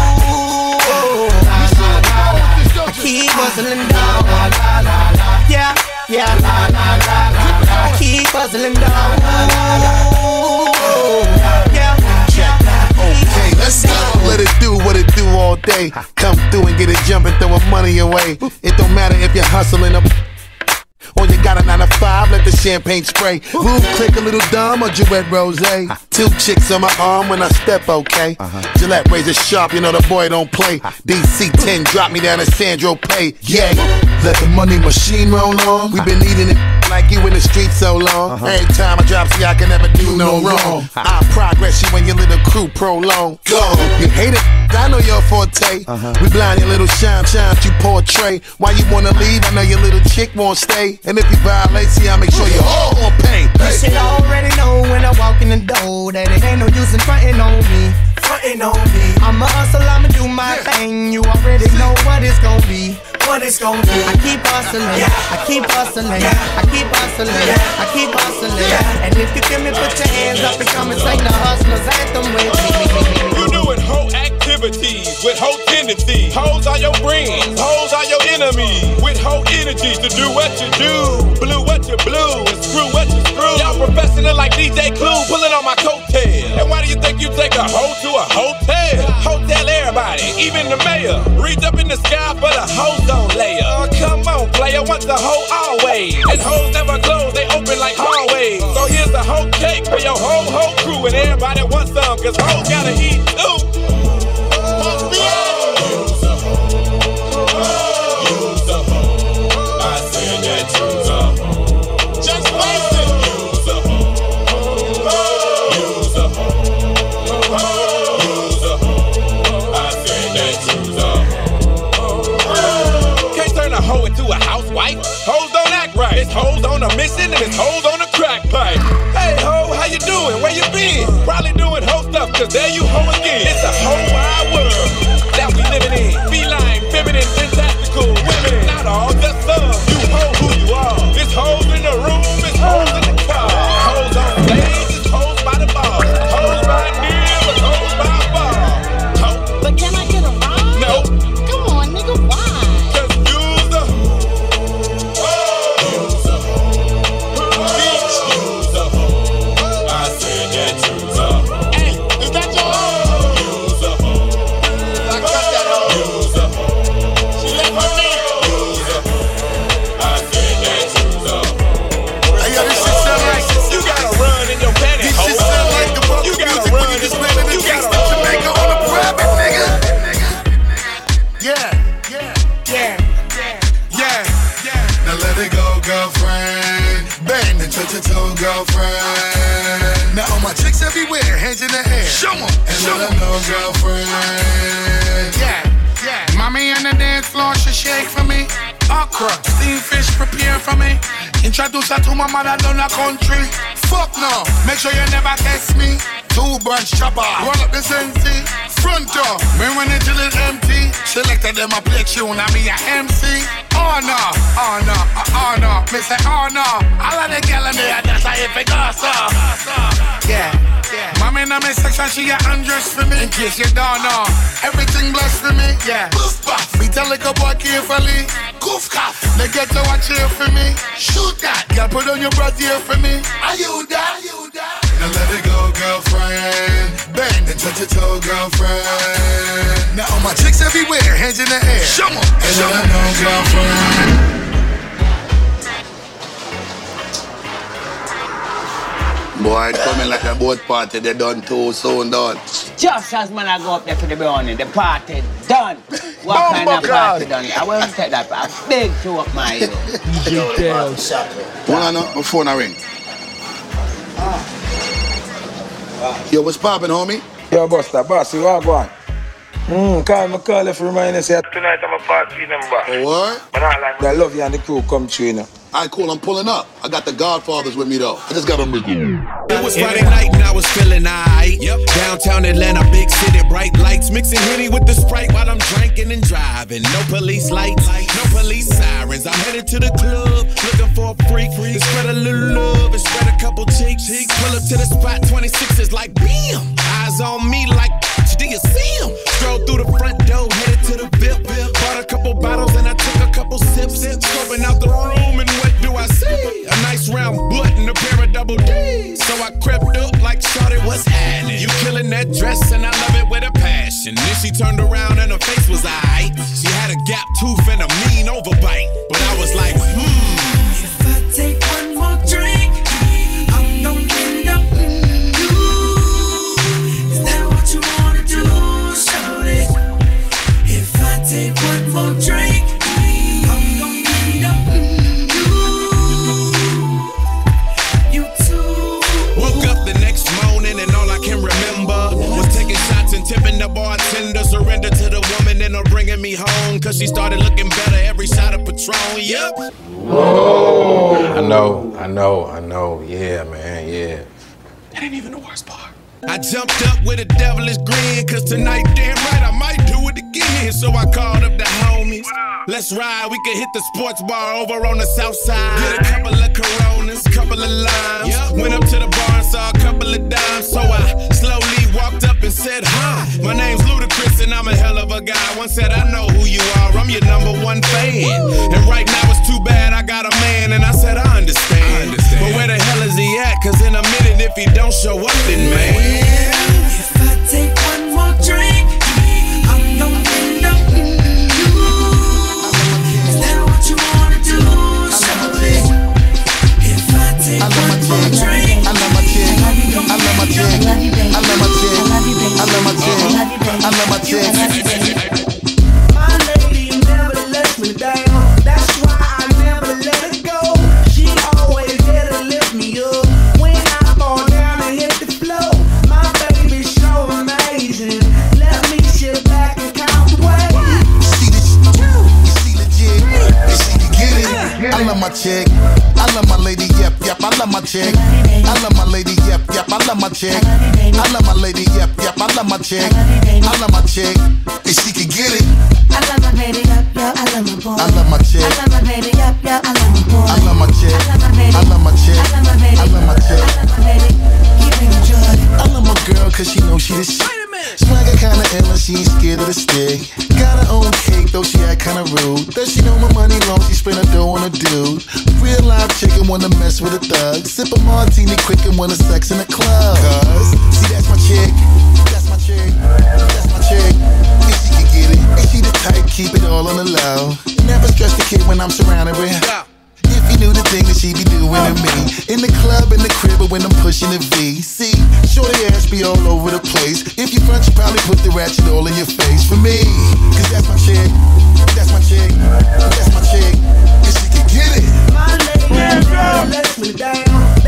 la. I keep hustling, dog. La la la la. Yeah, yeah, la la la la. I keep hustling, dog. La la la la. Yeah. Okay, let's go. Let it do what it do all day. Come through and get it jumping, throwing money away. It don't matter if you're hustling up or you got a nine to five, let the champagne spray. Roof click a little dumb or Jouet Rose. Two chicks on my arm when I step, okay. Gillette razor sharp, you know the boy don't play. D C ten drop me down to Sandro Pay. Yeah, let the money machine roll on. We been eating it like you in the street so long. Every time I drop, see I can never do no wrong. I progress you when your little crew prolong. Go, you hate it, I know your forte. We blind your little shine, shine you portray. Why you wanna leave? I know your little chick won't stay. And if you violate, see I make sure you all gon' pay. You should already know when I walk in the door that it ain't no use in frontin' on me. Frontin' on me. I'm a hustle, I'ma do my thing. You already know what it's gon' be. What it's gon' be. I keep hustling, I keep hustling, I keep hustling, I keep hustling. And if you feel me, put your hands up and come and sing the hustlers anthem with me. You doing whole activities with whole tendencies. Hoes are your friends, hoes are your enemies. With whole energies to do what you do, blue what you blue, and screw what you screw. Y'all professional like D J Clue, pulling on my coattail. And why do you think you take a hoe to a hotel? Hotel everybody, even the mayor. Reach up in the sky for the ozone layer. Oh, come on, player, once a hoe, always. And hoes never close, they open like hallways. So here's the whole cake for your whole whole crew, and everybody wants some, cause hoes gotta eat too. Hoes don't act right. It's hoes on a mission and it's hoes on a crack pipe. Hey ho, how you doing? Where you been? Probably doing hoe stuff, cause there you hoe again. It's a whole wide world that we living in. Feline, feminine, fantastical women. Not all, just some. You hoe who you are. It's hoes in the room, it's hoes in the car. Hoes on stage, it's hoes by the bar. Hoes by near, it's hoes by far. Ho. But can I get a ride? No. Come on, nigga, why? Cause you's a touch your toe, girlfriend. Now all my chicks everywhere, hands in the air. Show 'em, and show 'em, know, girlfriend. Yeah, yeah. Mommy on the dance floor, she shake for me. Okra, steamed fish, prepare for me. Introduce her to my mother down the country. Fuck no, make sure you never test me. Two branch chopper, roll up the Sensi. Front door, me when it till it's empty. Selected them a play tune, and me a M C. Oh no, oh no, oh no, me say oh no. All of the gal in there, that's how if it goes so. Yeah, yeah. Mommy in my section, she get undressed for me. In case you don't know, everything blessed for me. Yeah, goof puff, me tell like a boy carefully. Goof cuff, they get to watch here for me. Shoot that, girl, put on your breath here for me. Are you that? Are you that? Now let it go, girlfriend. Bend and touch your toe, girlfriend. Now all my chicks everywhere, hands in the air. Show 'em, and show 'em, know, girlfriend. Boy, it coming like a boat party, they done too soon done. Just as man I go up there for the burning, the party done. What kind of party done? I won't take that, but I beg to up my ear. Hold on, no, my phone a ring. Yo, what's poppin', homie? Yo, Buster, boss, you are going. Hmm, call me call if you remind us that tonight I'm a party number. Oh, what? But I like I love you and the crew come through, you know. Alright, cool, I'm pulling up. I got the Godfathers with me, though. I just gotta make it. It was Friday night and I was feeling aight. Yep. Downtown Atlanta, big city, bright lights. Mixing Henny with the Sprite while I'm drinking and driving. No police lights, no police sirens. I'm headed to the club, looking for a freak. To spread a little love and spread a couple cheeks. Pull up to the spot, twenty-six is like bam. Eyes on me like, do you see him? Strolled through the front door, headed to the V I P. Bought a couple bottles and I took a couple sips. Scoping out the room and what do I see? A nice round butt and a pair of double D's. So I crept up like shawty, what's happening? You killing that dress and I love it with a passion. Then she turned around and her face was aight. She had a gap tooth and a mean overbite. But I was like, hmm. If I take one more drink, I'm gonna end up in you. Is that what you wanna do, shawty? If I take one more drink, I'm gonna end up in you. You too. Woke up the next morning and all I can remember was taking shots and tipping the bartender. Surrender to the woman and her bringing me home. Cause she started looking better every shot of Patron, yep. Whoa. I know, I know, I know. Yeah, man, yeah. That ain't even the worst part. I jumped up with a devilish grin, cause tonight, damn right, I might do it again. So I called up the homies. Let's ride, we could hit the sports bar over on the south side. Get a couple of Coronas, couple of limes. Yep. Went up to the bar and saw a couple of dimes. So I slowly walked up and said, hi, my name's Ludacris and I'm a hell of a guy. One said, I know who you are, I'm your number one fan. And right now it's too bad I got a man. And I said, I understand. I understand. But where the hell is he at? Cause in a minute if he don't show up, then man. If I take one more drink, I'm gonna end up in you. Is that what you wanna do, shawty? If I take one more drink, I love my chick, I love my chick, I love my chick, I love my chick, I love my chick. My lady never lets me down. That's why I never let her go. She always there to lift me up when I fall down and hit the floor. My baby's so amazing. Let me sit back and count the way. See this, you see legit, you see you get it. I love my chick, I love my lady, yep, yep, I love my chick. I love my lady, yep, yep, I love my chick. I love my lady, yep, yep, I love my chick. I love my chick, and she can get it. I love my baby, yup, yup, I love my boy. I love my chick. I love my baby, yup, yup, I love my boy. I love my chick. I love my chick. I love my baby. I love my chick. I love my baby. Keep it joy. I love my girl cause she knows she the shit. Swagger kinda ill and she ain't scared of the stick. Got her own cake though she act kinda rude. Does she know my money long, she spend her dough on a dude. Real live chicken wanna mess with a thug. Sip a martini quick and wanna sex in the club. Cause, see that's my chick. That's my chick. That's my chick. And she can get it. And she the type, keep it all on the low. Never stress the kid when I'm surrounded with her. If you knew the thing that she be doing to me. In the club, in the crib, or when I'm pushing the V. See, shorty ass be all over the place. If you front, you probably put the ratchet all in your face for me. Cause that's my chick, that's my chick, that's my chick. Cause she can get it. My lady never lets me down.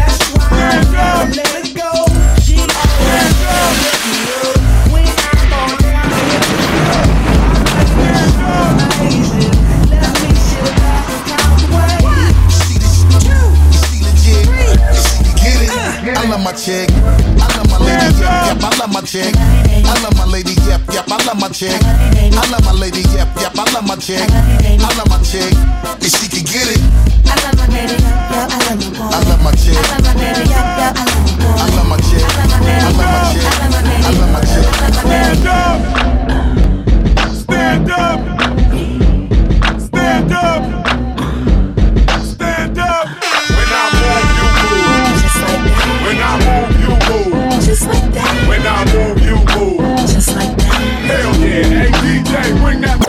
my chick. I love my lady, yep, yep, I love my chick. I love my lady, yep, yep, I love my chick. I love my lady, yep, yep, I love my chick. I love my chick, and she can get it. I love my lady, yeah, I love my boy. I love my chick. I love my lady, yeah, yeah, I love my boy. I love my chick. I love my chick. I love my chick. Stand up! Stand up! Stand up! Stand up! When I move, you move. Just like that. When I move, you move. Just like that. When I move, you move. Just like that. Hell yeah! Hey D J, bring that.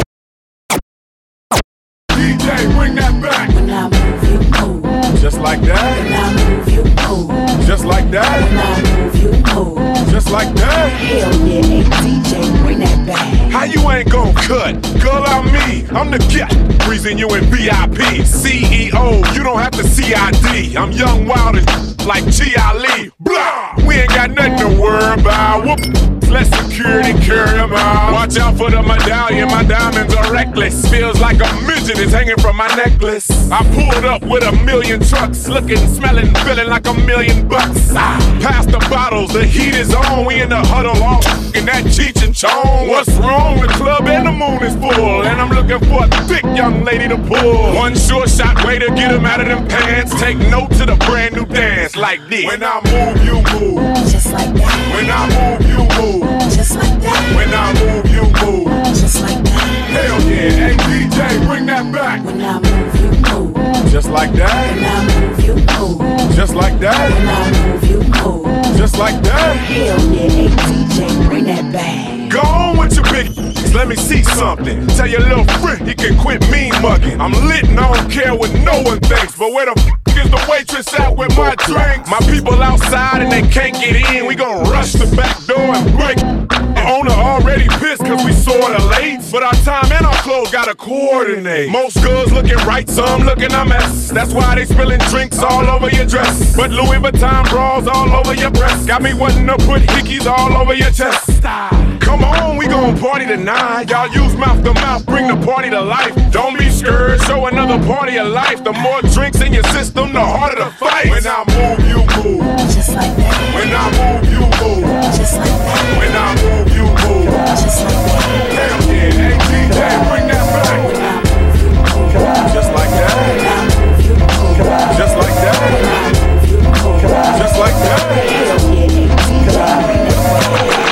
D J, bring that back. When I move, you move. Just like that. When I move, you move. Just like that. When I move, you move. Just like that. Hell yeah, hey D J, bring that back. How you ain't gon' cut? Girl, I'm me. I'm the cat. Reason you in V I P. C E O, you don't have to C I D. I'm young, wild, and like G Ali. Blah! We ain't got nothing to worry about. Whoop. Let security carry them out. Watch out for the medallion, my diamonds are reckless. Feels like a midget is hanging from my necklace. I pulled up with a million trucks, looking, smelling, feeling like a million bucks. Ah, pass the bottles, the heat is on. We in the huddle, all in that Cheech and Chong. What's wrong? The club and the moon is full, and I'm looking for a thick young lady to pull. One sure shot way to get him out of them pants. Take note to the brand new dance like this. When I move, you move. Just like that. When I move, you move. Just like that. When I move, you move. Just like that. Hell yeah, hey D J, bring that back. When I move, you move. Just like that. When I move, you move. Just like that. When I move, you move. Just like that. Hell yeah, hey D J, bring that back. Go on with your big. Let me see something. Tell your little friend he can quit mean mugging. I'm lit and I don't care what no one thinks. But where the f is the waitress at with my drinks? My people outside and they can't get in. We gon' rush the back door and break. The owner already pissed cause we sorta late. But our time and our clothes gotta coordinate. Most girls looking right, some looking a mess. That's why they spilling drinks all over your dress. But Louis Vuitton bras all over your breast. Got me wanting to put hickeys all over your chest. Come on, we gon' party tonight. Y'all use mouth to mouth, bring the party to life. Don't be scared, show another party of life. The more drinks in your system, the harder the fight. When I move, you move. Just like that. When I move, you move. Just like that. When I move, you move. Just like that. Hell yeah, hey D J, bring that back. When I move, you move. Just like that. When I move, you move. Just like that. When I move, you move. Just like that. Hell yeah, hey D J, bring that back.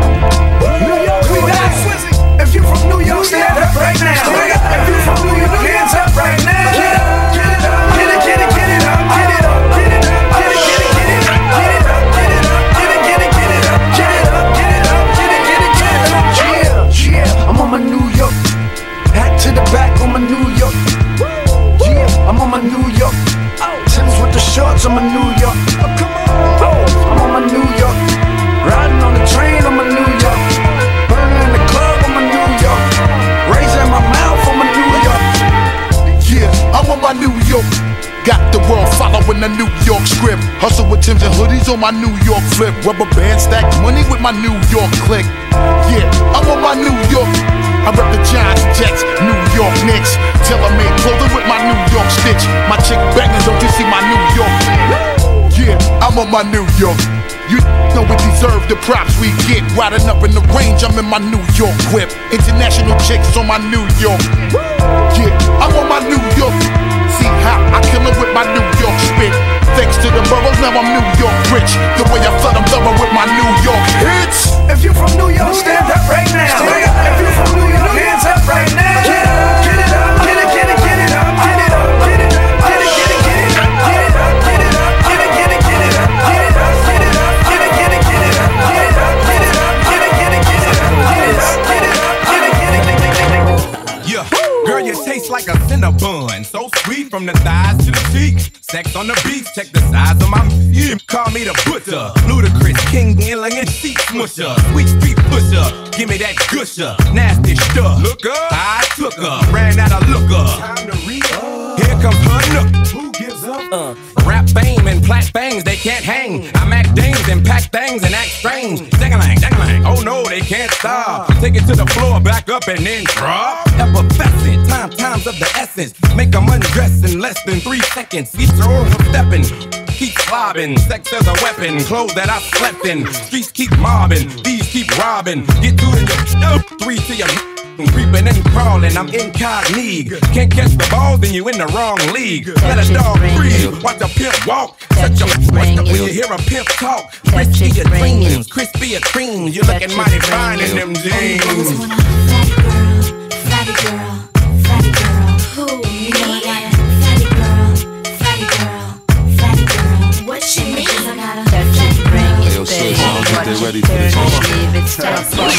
If you from New York, stand up right now. If you from New York, hands up right now. Get up, get it up, get it, get it, get it up, get it up, get it up, get it, get it, get it up, get it up, get it up, get it, get it, get it up, get it up, get it up, get it, get it, get it up. Yeah, yeah, I'm on my New York. Hat to the back on my New York. Yeah, I'm on my New York. Timbs with the shorts on my New York. Oh, come on. Oh, I'm on my New York. Riding on the train on my New York. Burning in the club on my New York. Raising my mouth on my New York. Yeah, I'm on my New York. Got the world following the New York script. Hustle with Timbs and hoodies on my New York flip. Rubber band stack money with my New York click. Yeah, I'm on my New York. I rep the Giants, Jets, New York Knicks. Tailor-made clothing with my New York stitch. My chick banging, don't you see my New York? Yeah, I'm on my New York. You know we deserve the props we get. Riding up in the range, I'm in my New York whip. International chicks on my New York. Yeah, I'm on my New York. See how I kill it with my New York spit. Thanks to the boroughs, now I'm New York rich. The way I flood them thorough with my New York hits. If you from New York, stand up right now. If you from New York, hands up right now. Get up, get it up, get it, get it, get it up, get it up, get it, get it, get it, get it up, get it up, get it up, get it, get it, get it up, get it up, get it up, get it, get it, get it up, get it up, get it up, get it, get it, get it up, get it up, get it up, get it, get it, get it. Yeah, girl, you taste like a Cinnabon, so sweet from the thighs to the cheeks. Sex on the beach, check the size of my. You call me the butcher, ludicrous king, elegant seat smusher, sweet street pusher. Give me that gusher, nasty stuff. Look up, I took her, ran out of looker. Time to re up. Here comes her nook. Who gives up? Uh, rap fame and plat bangs, they can't hang. I mac dames and pack things and act strange. Dang-a-lang, dang-a-lang. Oh no, they can't stop. Take it to the floor, back up and then drop. Effervescent, time, times of the essence. Make them undress in less than three seconds. Each roll of stepping. keep slobbing. Sex as a weapon, clothes that I slept in. Streets keep mobbing, these keep robbing. Get two in your three to your creeping and crawling, I'm incognito. Can't catch the ball, then you in the wrong league. Let a dog breathe, watch a pimp walk. Such a when you hear a pimp talk. Crispy your dreams, crispy your creams. You looking mighty fine in them jeans. Fatty girl, fatty girl, ooh, you know I got a fatty girl, fatty girl, fatty girl. What she means? I got a touch it, bring it, yo, sis, I don't think they ready for this one.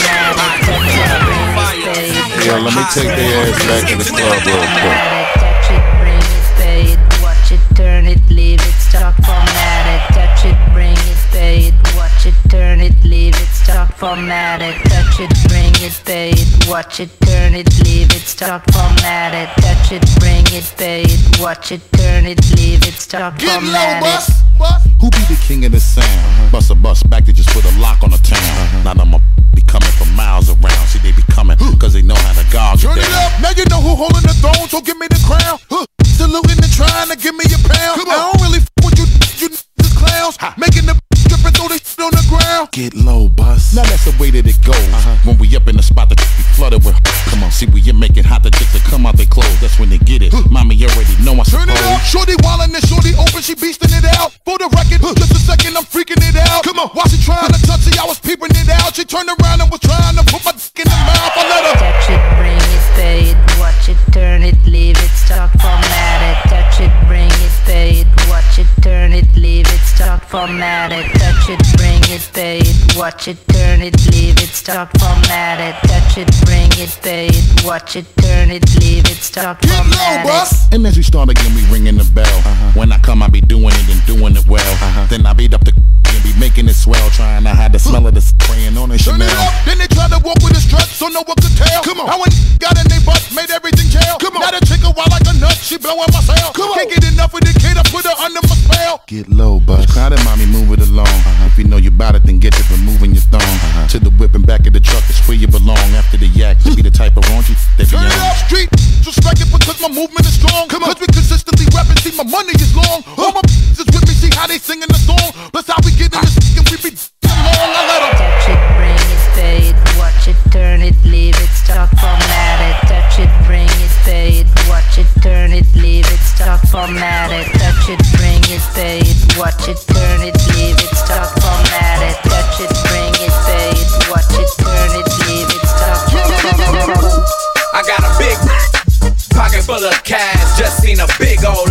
Yo, let me take their ass back to the club real quick. Touch it, bring it, pay it, watch it, turn it, leave it, stop formatted. Touch it, bring it, pay it, watch it, turn it, leave it, stop formatted. Touch it, bring it, pay it, watch it, turn it, leave it, stop formatted. Touch it, bring it, pay it, watch it, turn it, leave it, stop formatted. Who be the king of the sound? Bust a bus back to just put a lock on the town. Now them be coming from miles around. See, they be coming cause they know how to guard you down. Turn it up, now you know who holding the throne, so give me the crown. Huh. Saluting and trying to give me a pound. I don't really f with you, you just clowns. Ha. Making the trip and throw this shit on the ground. Get low, bus. Now that's the way that it goes. Uh-huh. When we up in the spot, the be flooded with. Come on, see, we you make it hot, the chicks that come out they clothes. That's when they get it. Huh. Mommy, you already know I Turn suppose. It up, shorty wildin' and shorty open, she beastin' it out. For the record, huh. Just a second, I'm freaking it out. Come on, while she trying to touch it, I was peeping it out. She turned around and was trying to put my dick in the mouth. I let her touch it, bring it, pay it, watch it, turn it, leave it, stop formatted. Touch it, bring it, pay it, watch it, turn it, leave it, stop formatted. Touch it, bring it, pay it, watch it, turn it, leave it, stop formatted. Touch it, bring it, pay it, watch it, turn it, leave it, stop formatted. And as we start again, we ringing the bell. Uh-huh. When I come, I be doing it and doing it well. Uh-huh. Then I beat up the and be making it swell, trying to hide the smell of the spraying on the Chanel. Turn it up, then they try to walk with a strut, so no one could tell. Come on, how when got in they butt, made everything jail. Come on, now the chick a wild like a nut, she blowing my cell. Come on, can't get enough of the kid, I put her under my spell. Get low, bus. Crowded, mommy, move it along. Uh-huh. If you know you bout it, then get to removing your thong. Uh-huh. To the whip and back of the truck is where you belong. After the yak, to be the type of raunchy they be on. Turn it up, street, respect it because my movement is strong. Come on, cause we consistently rapping, see my money is long. All my is with me, see how they singing the song. Plus how we get in this and we be long. I let them touch it, bring it, pay it, watch it, turn it, leave it, stop formatted. Touch it, bring it, pay it, watch it, turn it, leave it, stop formatted. Touch it, bring it, pay it, watch it, turn it, leave it, stop formatted. Touch it, bring it, pay it, watch it, turn it, leave it, stop formatted. I got a big pocket full of cash, just seen a big old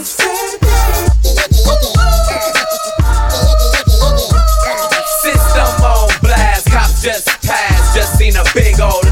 system on blast, cops just passed, just seen a big old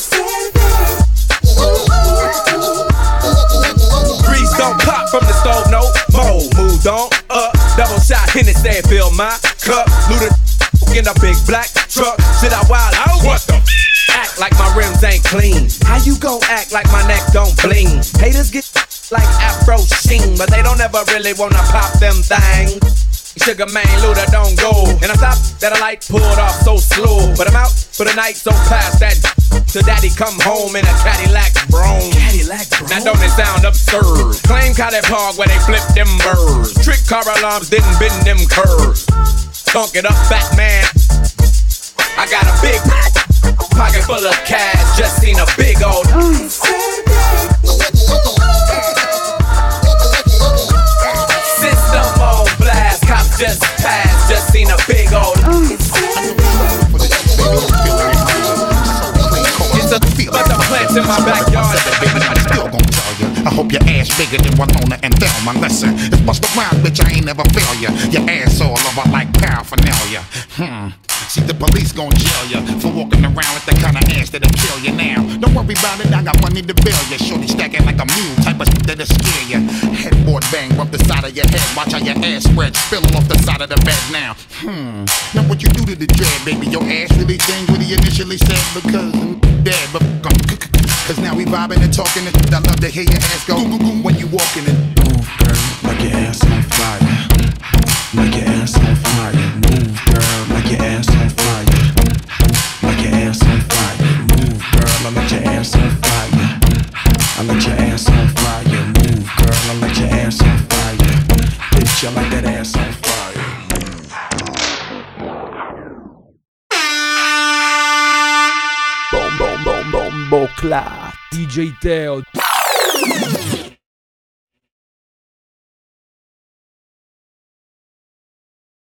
grease don't pop from the stove, no more. Moved on up, double shot, Hennessy, fill my cup, looted in a big black truck. Shit, I wild out. What the? Act like my rims ain't clean. How you gon' act like my neck don't bling? Haters get like Afro Sheen, but they don't ever really wanna pop them things. Sugar man, Luda don't go. And I stopped that a light pulled off so slow. But I'm out for the night, so past that. So daddy come home in a Cadillac Brougham. Cadillac Brougham. Now don't it sound absurd? Claim Cadillac Park where they flip them birds. Trick car alarms didn't bend them curves. Thunk it up, fat man. I got a big pocket full of cash. Just seen a big old system on blast. Cops just passed. Just seen a big old it's a bunch of plants in my backyard. Still gon' tell you, I hope your ass bigger than Winona and Thelma. Listen, it's bust around, bitch, I ain't never fail ya. Your ass all over like paraphernalia. Hmm. See, the police gon' jail ya for walking around with the kind of ass that'll kill you now. Don't worry about it, I got money to bail ya. Shorty stacking like a mule, type of shit that'll scare ya. Headboard bang, rub the side of your head. Watch how your ass spread, spilling off the side of the bed now. Hmm. Now what you do to the dread, baby? Your ass really changed what he initially said because I'm dead, but I'm cause now we vibing and talking and I love to hear your ass go when you walking and move, girl, like your ass on fire. Like your ass on fire. Move, girl, like your ass on fire. Like your ass on fire. Move, girl, I let your ass on fire. I let your ass on fire. Move, girl, I let your ass on fire. Bitch, I I like that ass on fire. Bom bom bom bom bocla D J Teo.